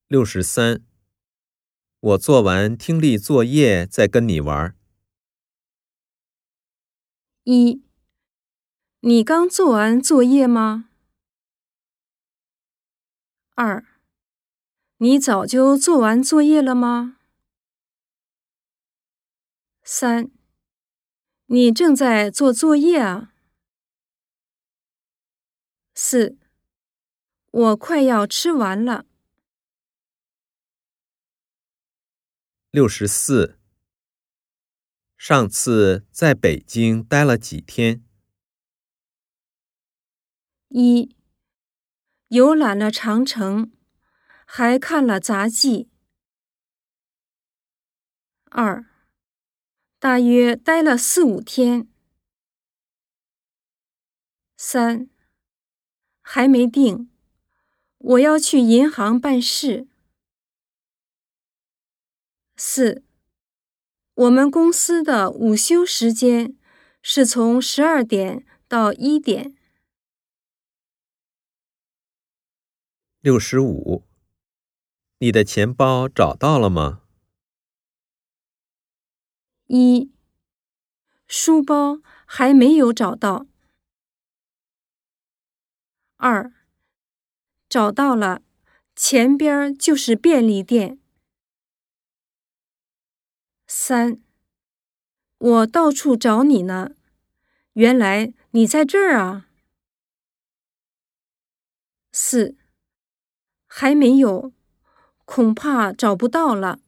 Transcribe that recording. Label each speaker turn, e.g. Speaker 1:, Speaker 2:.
Speaker 1: 63. 我做完听力作业再跟你玩。
Speaker 2: 1. 你刚做完作业吗？ 2. 你早就做完作业了吗？ 3. 你正在做作业啊？ 4. 我快要吃完了。
Speaker 1: 64. 上次在北京待了几天
Speaker 2: 1. 游览了长城，还看了杂技。2. 大约待了4、5天。3. 还没定，我要去银行办事。4. 我们公司的午休时间是从12点到1点。
Speaker 1: 65. 你的钱包找到了吗
Speaker 2: 1. 书包还没有找到。2. 找到了，前边就是便利店。3. 我到处找你呢，原来你在这儿啊。4. 还没有，恐怕找不到了。